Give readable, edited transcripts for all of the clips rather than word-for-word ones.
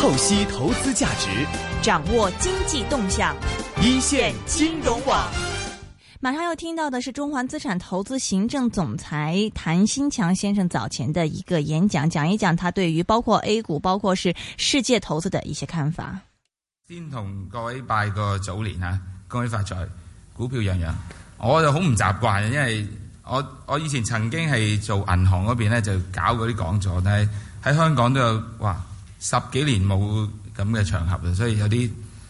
透析投資價值， 掌握經濟動向， 一線金融網。 馬上要聽到的是中環資產投資行政總裁譚新強先生早前的一個演講，講一講他對於包括 A 股，包括是世界投資的一些看法。 先同各位拜個早年啊，恭喜發財，股票樣樣。我就好唔習慣，因為我以前曾經係做銀行嗰邊咧，就搞嗰啲講座，但係喺香港都有10幾年冇咁嘅場合，所以有啲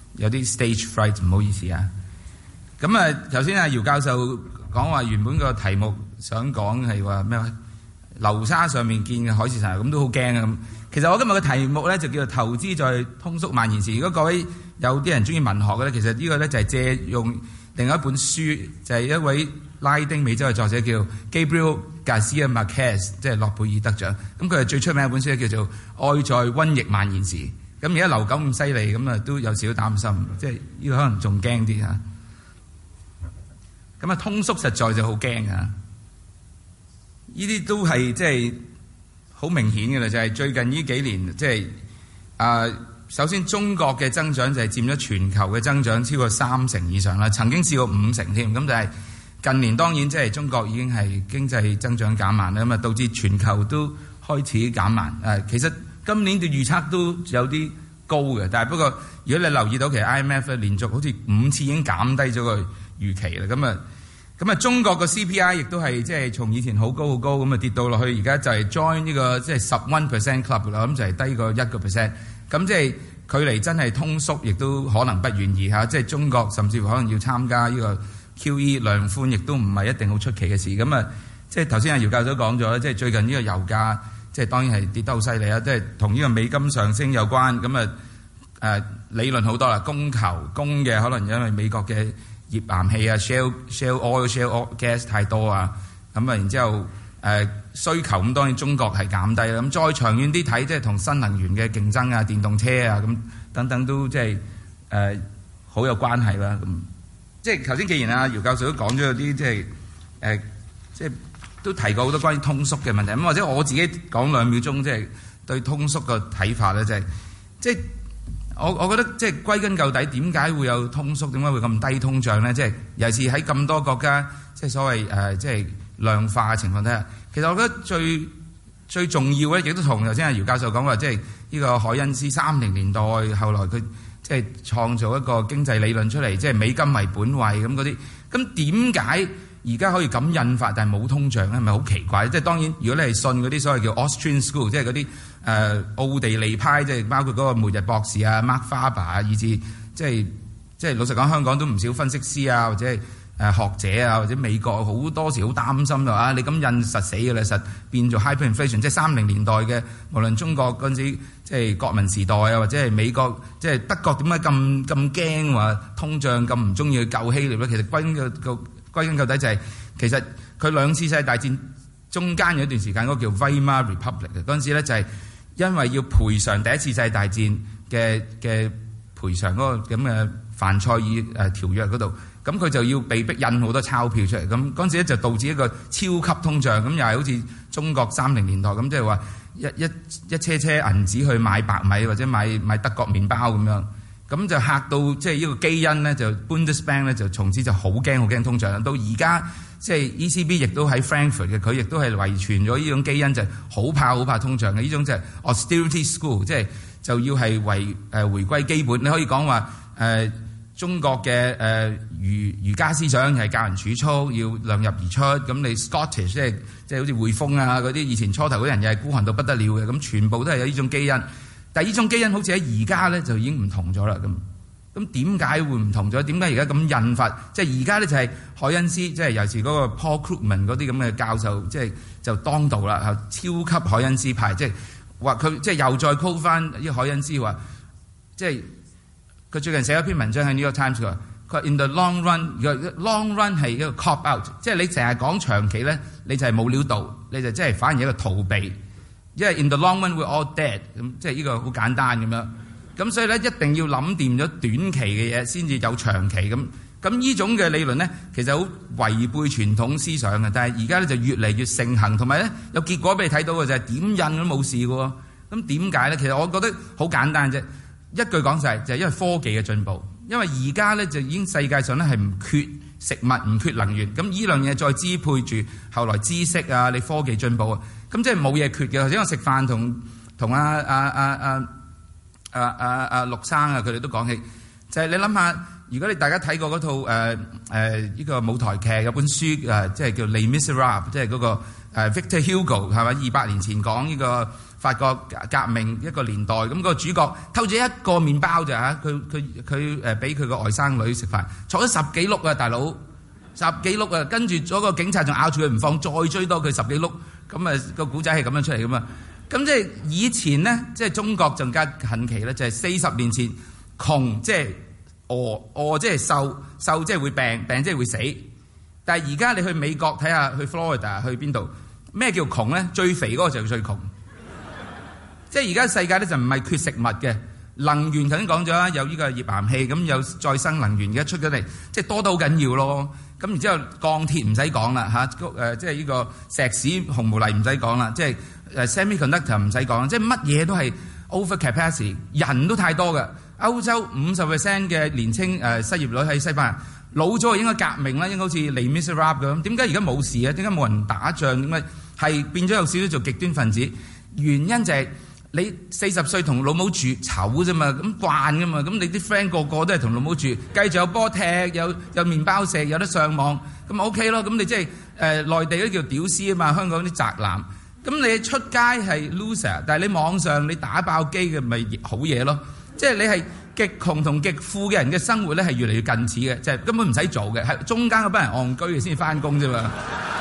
stage fright， 唔好意思啊。咁啊，頭先阿姚教授講話原本個題目想講係話咩話？流沙上面見嘅海市蜃樓，咁都好驚啊！咁其實我今日嘅題目咧就叫做投資在通縮蔓延時。如果各位有啲人中意文學嘅咧，其實呢個咧就係借用另外一本書，就係一位拉丁美洲嘅作者叫 Gabriel Garcia Marquez， 即係諾貝爾得獎。咁佢係最出名一本書叫做《愛在瘟疫蔓延時》。咁而家流感咁犀利，咁啊都有少少擔心，即係呢個可能仲驚啲嚇。咁啊，通縮實在就好驚啊！呢啲都係即係好明顯嘅啦，就係最近呢幾年即係首先中國嘅增長就係佔咗全球嘅增長超過30%以上啦，曾經試過50%添。咁但係近年當然即係中國已經係經濟增長減慢啦，咁啊導致全球都開始減慢。其實今年嘅預測都有啲高嘅，但係不過如果你留意到，其實 IMF 連續好似5次已經減低咗個預期啦。咁啊，中國個 CPI 亦都係即係從以前好高咁啊跌到落去，而家就係 join 呢個即係11% club 啦，咁就係低過1%。咁即係距離真係通縮，亦都可能不遠矣嚇。即係中國甚至乎可能要參加呢個 QE 量寬，亦都唔係一定好出奇嘅事。咁啊，即係頭先阿姚教授講咗，即係最近呢個油價即係當然係跌得好犀利啊！即係同呢個美金上升有關。咁啊理論好多啦，供嘅可能因為美國嘅頁岩氣啊 shale oil gas 太多啊，咁啊然之後需求咁當然中國係減低啦，咁再長遠啲睇，即係同新能源嘅競爭啊、電動車啊咁等等都即係好有關係啦。咁即係頭先既然阿姚教授都講咗有啲即係都提過好多關於通縮嘅問題，咁或者我自己講2秒鐘，即係對通縮個睇法咧，即係。我覺得即係歸根究底，點解會有通縮？點解會咁低通脹呢？即係尤其是喺咁多國家，即係所謂即係量化嘅情況底下，其實我覺得最重要嘅，亦都同頭先阿姚教授講話，即係呢個凱恩斯30年代後來佢即係創造一個經濟理論出嚟，即係美金為本位咁嗰啲。咁點解而家可以咁印發，但係冇通脹咧？係咪好奇怪？即係當然，如果你係信嗰啲所謂叫 Austrian School， 即係嗰啲奧地利派，即係包括嗰個末日博士啊、Mark Faber 啊，以至即係老實講，香港都唔少分析師啊，或者係學者啊，或者美國好多時好擔心啊，你咁印實死㗎啦，實變做 hyperinflation， 即係30年代嘅，無論中國嗰陣時即係國民時代啊，或者係美國即係德國點解咁驚話通脹咁唔中意去救希臘咧？其實歸根究底就係其實佢2次世界大戰中間有一段時間嗰個叫 Weimar Republic 嘅嗰陣時咧，就係因為要賠償第1次世界大戰嘅賠償嗰個咁嘅凡賽爾條約嗰度，咁佢就要被逼印好多鈔票出嚟，咁嗰陣時咧就導致一個超級通脹，咁又係好似中國30年代咁，即係話一車銀紙去買白米或者買德國麵包咁樣。咁就嚇到即係呢個基因咧，就 Bundesbank 咧就從此就好驚通脹啦。到而家即係 ECB 亦都喺 Frankfurt 嘅，佢亦都係遺傳咗呢種基因，就好怕通脹嘅。呢種就係 austerity school， 即係就要係回歸基本。你可以講話中國嘅儒家思想係教人儲蓄，要量入而出。咁你 Scottish 即係好似匯豐啊嗰啲以前初頭嗰啲人又係孤寒到不得了嘅，咁全部都係有呢種基因。但係呢種基因好似喺而家咧就已經唔同咗啦。咁點解會唔同咗？點解而家咁印發？即係而家咧就係凱恩斯，即係尤其是嗰個 Paul Krugman 嗰啲咁嘅教授，即係就當道啦，超級凱恩斯派，即係話佢即係又再 call 翻呢個凱恩斯話，即係佢最近寫咗篇文章喺 New York Times 佢話 in the long run 係一個 cop out， 即係你成日講長期咧，你就係冇料到，你就即係反而一個逃避。因為 in the long run we're all dead， 咁即係呢個好簡單咁樣，咁所以咧一定要諗掂咗短期嘅嘢先至有長期咁。咁呢種嘅理論咧，其實好違背傳統思想嘅，但係而家咧就越嚟越盛行，同埋咧有結果俾你睇到嘅就係點印都冇事嘅喎。 咁點解咧？其實我覺得好簡單啫，一句講晒就係因為科技嘅進步。因為而家咧就已經世界上咧係唔缺食物，唔缺能源。咁呢樣嘢再支配住後來知識啊，你科技進步啊，咁即係冇嘢缺嘅。頭先我食飯同陸生啊，佢哋都講起，就係你諗下，如果你大家睇過嗰套呢個舞台劇有本書即係叫《Les Miserables》，即係嗰個Victor Hugo 係咪200年前講呢個法國革命一個年代，咁個主角偷咗一個麵包咋嚇，佢俾佢個外甥女食飯，坐咗10幾碌啊，大佬10幾碌啊，跟住咗個警察仲咬住佢唔放，再追多佢10幾碌，咁個古仔係咁樣出嚟噶嘛。咁即係以前呢，即係中國更加近期咧，就係40年前窮即係餓即係瘦即係會病即係會死。但係而家你去美國睇下，去 Florida 去邊度，咩叫窮咧？最肥嗰個就係最窮。即係而家世界咧就唔係缺食物嘅，能源頭先講咗啦，有呢個頁岩氣，咁有再生能源而家出咗嚟，即係多得好緊要咯。咁然之後鋼鐵唔使講啦嚇，即係呢個石屎紅毛泥唔使講啦，即係semiconductor 唔使講，即係乜嘢都係 over capacity， 人都太多嘅。歐洲50% 嘅年青失業率喺西班牙，老咗應該革命啦，應該好似Les Miserables咁。點解而家冇事啊？點解冇人打仗？點解係變咗有少少做極端分子？原因就係你40歲同老母住醜啫嘛，咁慣噶嘛，咁你啲 friend 個個都係同老母住，繼續有波踢，有麵包食，有得上網，咁 OK 咯。咁你即係內地嗰啲叫屌絲啊嘛，香港啲宅男。咁你出街係 loser， 但係你網上你打爆機嘅咪好嘢咯。即係你係極窮同極富嘅人嘅生活咧係越嚟越近似嘅，即係根本唔使做嘅，係中間嗰班人戇居嘅先至翻工啫嘛。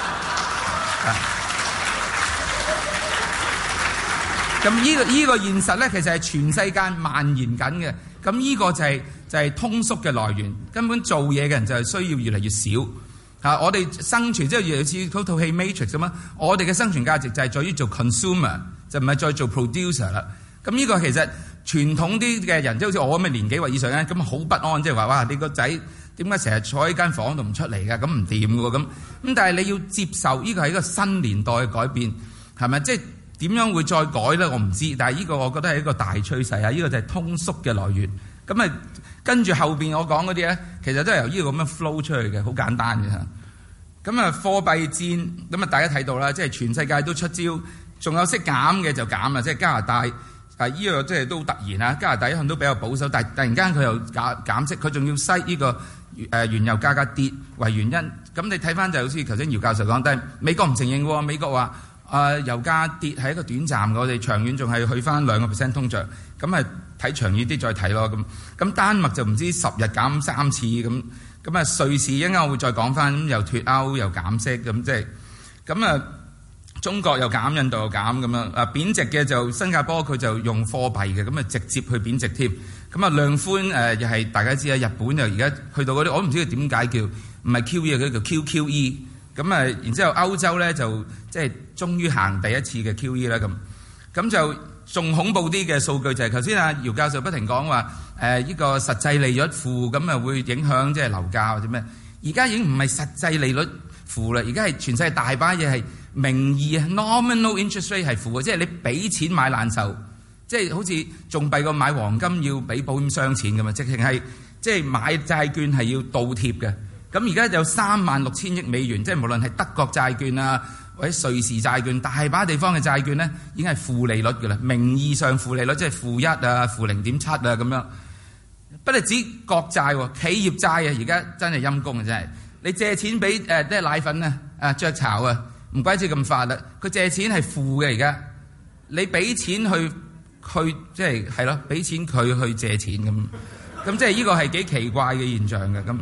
咁呢個現實咧，其實係全世界蔓延緊嘅。咁呢個就係通縮嘅來源。根本做嘢嘅人就係需要越嚟越少。我哋生存即係越嚟越似嗰套戲 Matrix 咁啊！我哋嘅生存價值就係在於做 consumer， 就唔係再做 producer 啦。咁呢個其實傳統啲嘅人，即係好似我咁嘅年紀或以上咧，咁好不安，即係話哇，你個仔點解成日坐喺間房度唔出嚟㗎？咁唔掂㗎喎咁。咁但係你要接受呢個係一個新年代嘅改變，係咪？即係點樣會再改咧？我唔知。但係呢個我覺得係一個大趨勢啊！呢個就係通縮嘅來源。咁啊，跟住後邊我講嗰啲咧，其實都係由呢個咁樣 flow 出去嘅，好簡單嘅嚇。咁啊，貨幣戰咁啊，大家睇到啦，即係全世界都出招，仲有識減嘅就減啦，即係加拿大。呢個即係都好突然啊！加拿大一向都比較保守，但係突然間佢又減息，佢仲要篩呢個原油價格跌為原因。咁你睇翻就好似頭先姚教授講，但係美國唔承認喎。美國話油價跌係一個短暫嘅，我哋長遠仲係去翻2% 通脹。咁啊睇長遠啲再睇咯。咁丹麥就唔知10日減3次咁。咁啊瑞士一陣間我會再講翻，咁又脫歐又減息咁即係咁啊。中國又減，印度又減咁樣。貶值嘅就新加坡佢就用貨幣嘅，咁啊直接去貶值添。咁啊量寬又係大家知啊，日本又而家去到嗰啲，我唔知佢點解叫唔係 QE 佢叫 QQE。咁啊然之後歐洲咧就即係終於行第一次嘅 QE 啦咁就仲恐怖啲嘅數據就係頭先姚教授不停講話呢個實際利率負，咁啊會影響即係樓價或者咩？而家已經唔係實際利率負啦，而家係全世界大把嘢係名義 nominal interest rate 係負嘅，即係你俾錢買難受，即係好似仲弊過買黃金要俾保險箱錢咁啊！直情係即係買債券係要倒貼嘅。咁而家有36,000億美元，即係無論係德國債券啊或者瑞士債券，大把地方嘅債券咧已經係負利率嘅啦，名義上負利率即係負1啊、負0.7啊咁樣。不單止國債，企業債啊，而家真係陰公啊！真係你借錢俾啲奶粉啊、雀巢啊。唔怪之咁快啦！佢借錢係負嘅而家，你俾錢去即係咯，俾錢佢去借錢咁即係呢個係幾奇怪嘅現象嘅咁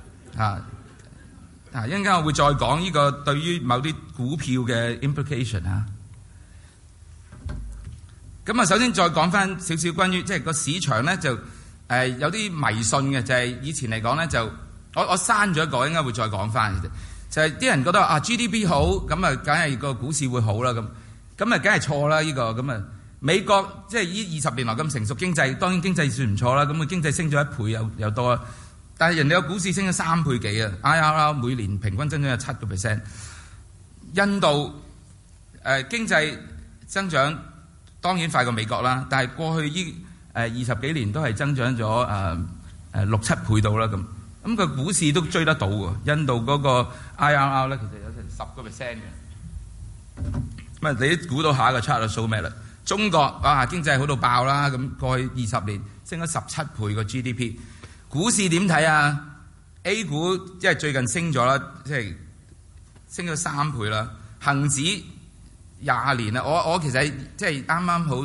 一陣間我會再講呢個對於某啲股票嘅 implication 咁首先再講翻少少關於即係個市場咧就有啲迷信嘅，就係以前嚟講咧就我刪咗一個，應該會再講翻嘅啫。就係啲人覺得GDP 好，咁啊梗係個股市會好啦，咁啊梗係錯啦呢個。咁啊美國即係呢20年來咁成熟經濟，當然經濟算唔錯啦，咁佢經濟升咗1倍有多啦，但係人哋個股市升咗3倍幾啊 IRR 每年平均增長有7%。印度經濟增長當然快過美國啦，但係過去呢20幾年都係增長咗6-7倍到啦咁。咁個股市都追得到喎。印度嗰個 IRR 咧，其實有成10%嘅。咁啊，你都估到下一個 chart 數咩啦？中國經濟好到爆啦，咁過去20年升咗17倍個 GDP。股市點睇啊 ？A 股即係最近升咗啦，即係升咗3倍啦。恆指20年啦，我其實即係啱啱好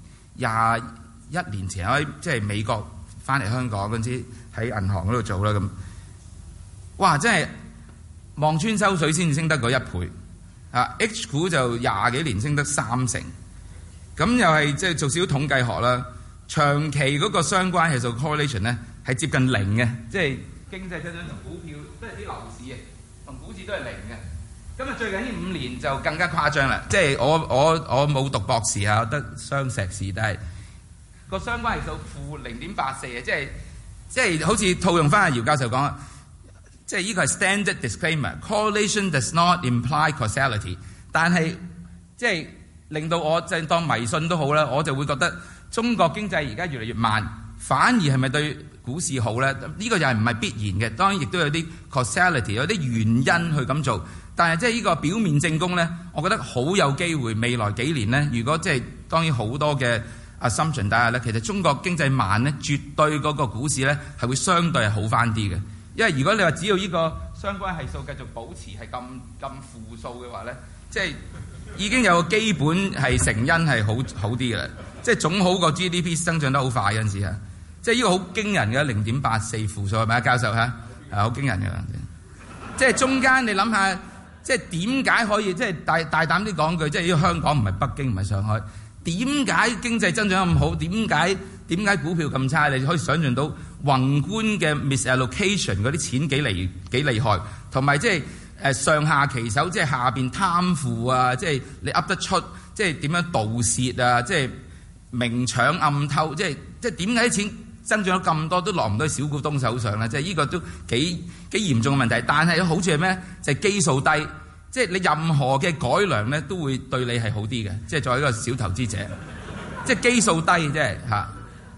21年前喺即係美國翻嚟香港嗰陣時喺銀行嗰度做啦咁。哇！真係望穿秋水先至升得嗰1倍。H 股就20幾年升得3成。咁又係即係做少少統計學啦，長期嗰個相關係數 correlation 咧係接近0嘅，即係經濟增長同股票都係啲樓市啊，同股市都係0嘅。咁啊最近呢5年就更加誇張啦，即係我冇讀博士啊，我得雙碩士，但係個相關係數-0.84啊，即係好似套用翻阿姚教授講啊，即係呢個係 standard disclaimer，correlation does not imply causality， 但係即係令到我就當迷信都好啦，我就會覺得中國經濟而家越嚟越慢，反而係咪對股市好咧？呢個又係唔係必然嘅？當然亦都有啲 causality， 有啲原因去咁做。但係即係呢個表面證供咧，我覺得好有機會未來幾年咧，如果即係當然好多嘅 assumption 底下咧，其實中國經濟慢咧，絕對嗰個股市咧係會相對係好翻啲嘅。因為如果你話只要呢個相關係數繼續保持係咁負數嘅話咧，即係已經有個基本係成因係好啲嘅啦，即係總好過 GDP 增長得好快嗰陣時啊，即係呢個好驚人嘅0.84負數係咪啊，教授嚇？係好驚人嘅，即係中間你諗下，即係點解可以即係大膽啲講句，即係呢個香港唔係北京唔係上海，點解經濟增長咁好？點解股票咁差？你可以想象到宏觀嘅 misallocation 嗰啲錢幾厲害，同埋即係上下其手，即係下邊貪腐啊，即係你噏得出，即係點樣盜竊啊，即係明搶暗偷，即係點解啲錢增長咗咁多都落唔到小股東手上咧？即係呢個都幾嚴重嘅問題。但係好處係咩？就係基數低，即係你任何嘅改良咧都會對你係好啲嘅。即係作為一個小投資者，即係基數低，即係嚇。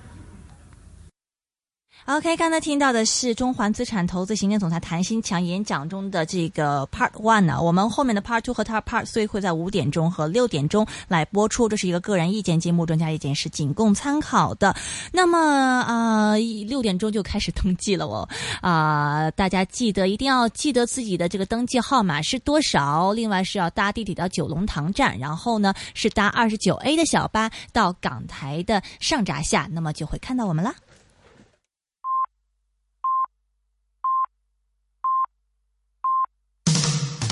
OK， 剛才聽到的是中環資產投資行政總裁譚新強演講中的這個 Part 1啊，我們後面的 Part 2和 Part 3會在5點鐘和6點鐘來播出，這是一個個人意見節目，專家意見是僅供參考的。那麼6點鐘就開始登記了哦，大家一定要記得自己的這個登記號碼是多少，另外是要搭地鐵到九龍塘站，然後呢是搭29A 的小巴到港台的上閘下，那麼就會看到我們啦。